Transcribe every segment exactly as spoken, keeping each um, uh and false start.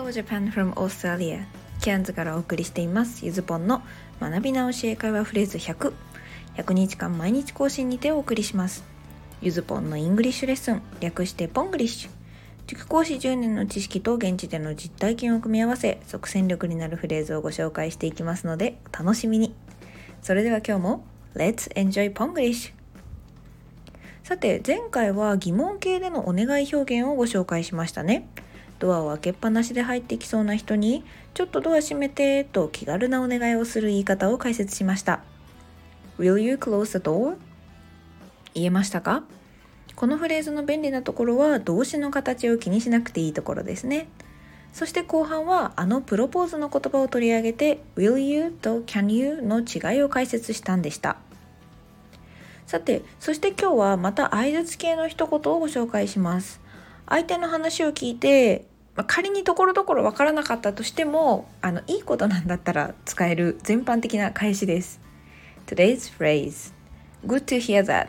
Hello Japan from Australia ケアンズからお送りしていますゆずぽんの学び直し英会話フレーズひゃく ひゃくにちかん毎日更新にてお送りします。ゆずぽんのイングリッシュレッスン、略してポングリッシュ。塾講師じゅうねんの知識と現地での実体験を組み合わせ即戦力になるフレーズをご紹介していきますのでお楽しみに。それでは今日も Let's enjoy ポングリッシュ。さて前回は疑問形でのお願い表現をご紹介しましたね。ドアを開けっぱなしで入ってきそうな人にちょっとドア閉めてと気軽なお願いをする言い方を解説しました。 Will you close the door? 言えましたか？このフレーズの便利なところは動詞の形を気にしなくていいところですね。そして後半はあのプロポーズの言葉を取り上げて Will you と Can you の違いを解説したんでした。さてそして今日はまた相槌系の一言をご紹介します。相手の話を聞いて、まあ、仮にところどころわからなかったとしてもあのいいことなんだったら使える全般的な返しです。 Today's phrase Good to hear that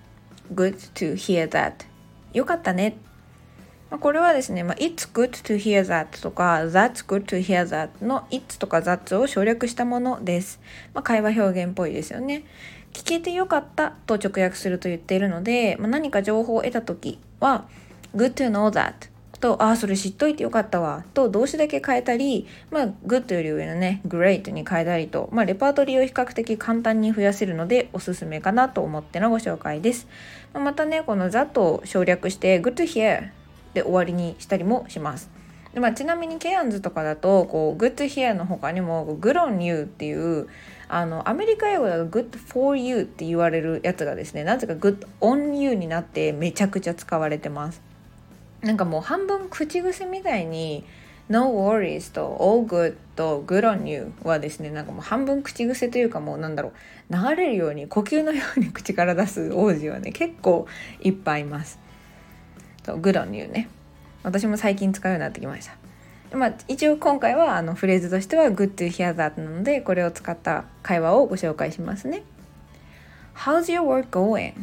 Good to hear that よかったね。まあ、これはですね、まあ、It's good to hear that とか That's good to hear that の It's とか That's を省略したものです。まあ、会話表現っぽいですよね。聞けてよかったと直訳すると言っているので、まあ、何か情報を得たときはGood to know that と、あ、それ知っといてよかったわと動詞だけ変えたり、まあ、good より上のね great に変えたりと、まあ、レパートリーを比較的簡単に増やせるのでおすすめかなと思ってのご紹介です。まあ、またねこの that を省略して good to hear で終わりにしたりもします。で、まあ、ちなみにケアンズとかだとこう good to hear の他にも good on you っていうあのアメリカ英語だと good for you って言われるやつがですね、なぜか good on you になってめちゃくちゃ使われてます。なんかもう半分口癖みたいに No worries と All good と Good on you はですね、なんかもう半分口癖というかもうなんだろう流れるように呼吸のように口から出す王子はね結構いっぱいいます。そう Good on you ね、私も最近使うようになってきました。まあ、一応今回はあのフレーズとしては Good to hear that なのでこれを使った会話をご紹介しますね。 How's your work going?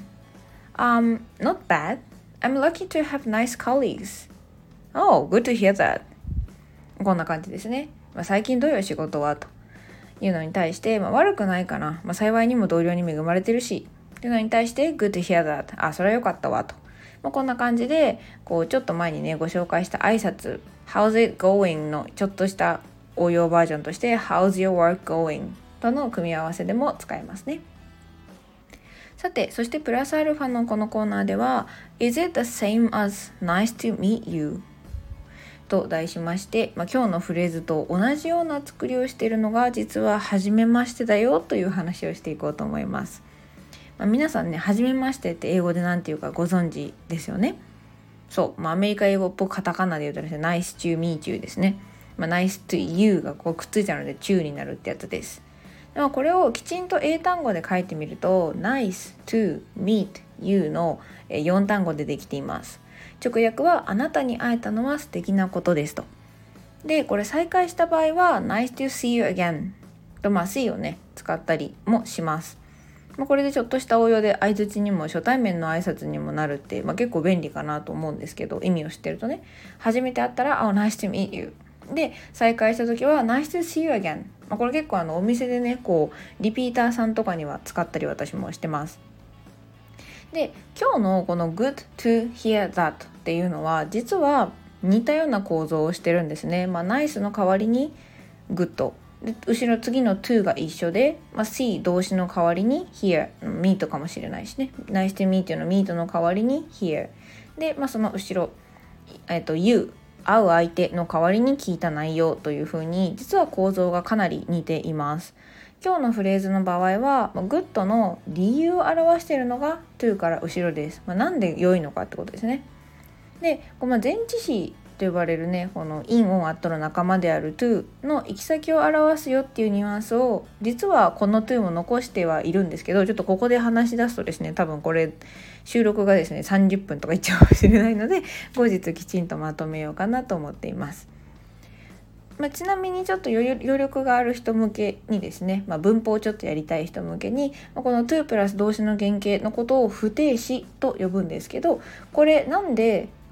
Um, not bad.I'm lucky to have nice colleagues. Oh, good to hear that. こんな感じですね。まあ、最近どういう仕事はというのに対して、まあ、悪くないかな。まあ、幸いにも同僚に恵まれてるし。というのに対して good to hear that. あ、それは良かったわと。まあ、こんな感じで、こうちょっと前にねご紹介した挨拶 How's it going のちょっとした応用バージョンとして How's your work going との組み合わせでも使えますね。さて、そしてプラスアルファのこのコーナーでは Is it the same as nice to meet you? と題しまして、まあ、今日のフレーズと同じような作りをしているのが実は初めましてだよという話をしていこうと思います。まあ、皆さんね初めましてって英語でなんていうかご存知ですよね。そう、まあ、アメリカ英語っぽくカタカナで言うとですね Nice to meet you ですね。まあ、Nice to you がこうくっついたので to になるってやつです。でもこれをきちんと英単語で書いてみると Nice to meet you のよん単語でできています。直訳はあなたに会えたのは素敵なことですと。でこれ再開した場合は Nice to see you again と、まあ see をね使ったりもします。まあ、これでちょっとした応用で相槌にも初対面の挨拶にもなるって、まあ、結構便利かなと思うんですけど、意味を知ってるとね初めて会ったら Oh nice to meet you で再会した時は Nice to see you again。まあ、これ結構あのお店でねこうリピーターさんとかには使ったり私もしてます。で今日のこの Good to hear that っていうのは実は似たような構造をしてるんですね。まあ Nice の代わりに Goodで後ろ次の to が一緒で、まあ、see 動詞の代わりに hear meet かもしれないしね Nice to meet you の meet の代わりに hear で、まあ、その後ろ、えっと、you会う相手の代わりに聞いた内容というふうに実は構造がかなり似ています。今日のフレーズの場合は good の理由を表しているのが to から後ろです。まあ、なんで良いのかってことですね。で、この前置詞と呼ばれるねこの in on at の仲間である to の行き先を表すよっていうニュアンスを実はこの to も残してはいるんですけど、ちょっとここで話し出すとですね多分これ収録がですねさんじゅっぷんとかいっちゃうかもしれないので後日きちんとまとめようかなと思っています。まあ、ちなみにちょっと余力がある人向けにですね、まあ、文法をちょっとやりたい人向けに、まあ、この to プラス動詞の原型のことを不定詞と呼ぶんですけど、これなんで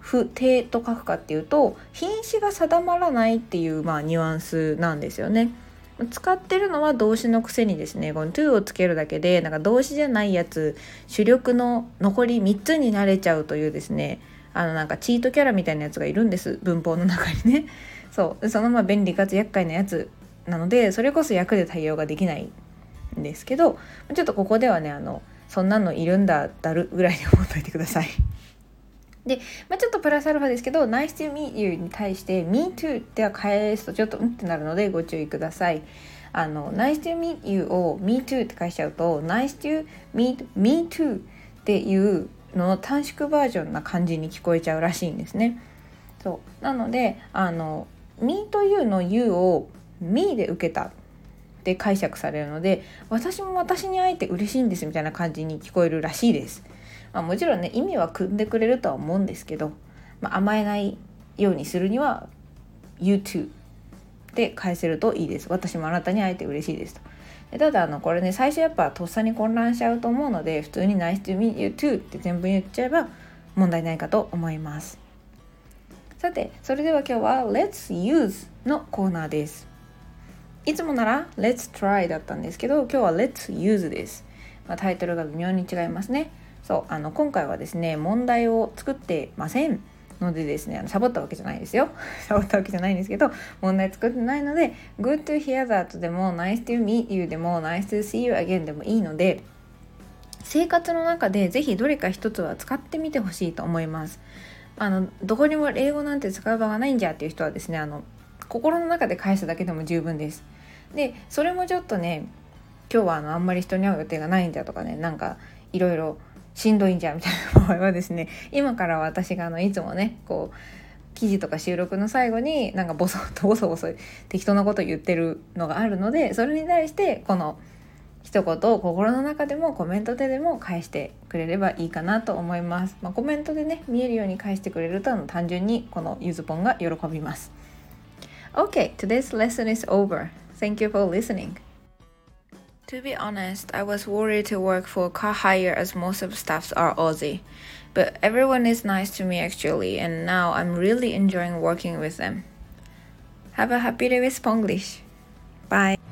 不定と書くかっていうと、品詞が定まらないっていう、まあ、ニュアンスなんですよね。使ってるのは動詞のくせにですね、この to をつけるだけでなんか動詞じゃないやつ、主力の残りみっつになれちゃうというですね、あのなんかチートキャラみたいなやつがいるんです、文法の中にね。そうそのまま便利かつ厄介なやつなので、それこそ訳で対応ができないんですけど、ちょっとここではね、あのそんなのいるんだだるぐらいで思っといてください。で、まあ、ちょっとプラスアルファですけど Nice to meet you に対して Me too では返すとちょっとうんってなるのでご注意ください。あの Nice to meet you を Me too って返しちゃうと Nice to meet me too っていうのの短縮バージョンな感じに聞こえちゃうらしいんですね。そうなので、あの Me というの You を Me で受けたって解釈されるので、私も私に会えて嬉しいんですみたいな感じに聞こえるらしいです。まあ、もちろんね意味は組んでくれるとは思うんですけど、まあ、甘えないようにするには You too で返せるといいです。私もあなたに会えて嬉しいですと。でただあのこれね、最初やっぱとっさに混乱しちゃうと思うので、普通に Nice to meet you too って全部言っちゃえば問題ないかと思います。さて、それでは今日は Let's use のコーナーです。いつもなら Let's try だったんですけど、今日は Let's use です。まあ、タイトルが微妙に違いますね。そうあの今回はですね、問題を作ってませんのでですね、あのサボったわけじゃないですよサボったわけじゃないんですけど、問題作ってないので Good to hear that でも Nice to meet you でも Nice to see you again でもいいので、生活の中でぜひどれか一つは使ってみてほしいと思います。あのどこにも英語なんて使う場がないんじゃっていう人はですね、あの心の中で返すだけでも十分です。でそれもちょっとね、今日はあのあんまり人に会う予定がないんだとかね、なんかいろいろしんどいんじゃみたいな場合はですね、今から私があのいつもねこう記事とか収録の最後になんかボソッとボソボソ適当なこと言ってるのがあるので、それに対してこの一言を心の中でもコメントででも返してくれればいいかなと思います。まあ、コメントでね見えるように返してくれるとあの単純にこのゆずぽんが喜びます。 Okay, today's lesson is over. Thank you for listening.To be honest, I was worried to work for car hire as most of staffs are Aussie. But everyone is nice to me actually, and now I'm really enjoying working with them. Have a happy day with Spanglish. Bye.